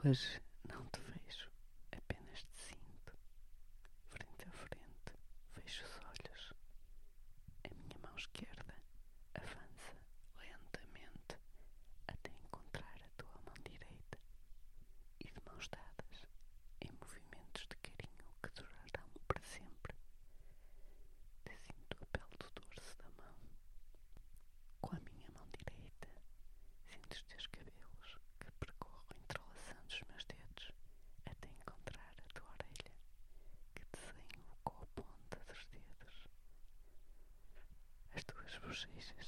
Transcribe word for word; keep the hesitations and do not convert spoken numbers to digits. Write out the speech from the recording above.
Hoje não te vejo, apenas te sinto, frente a frente, fecho os olhos. A minha mão esquerda avança lentamente até encontrar a tua mão direita e de mãos dadas, em movimentos de carinho que durarão para sempre, te sinto a pele do dorso da mão. Com a minha mão direita, sinto os teus cabelos que percorro entrelaçando os meus dedos até encontrar a tua orelha, que desenho com a ponta dos dedos. As tuas bochechas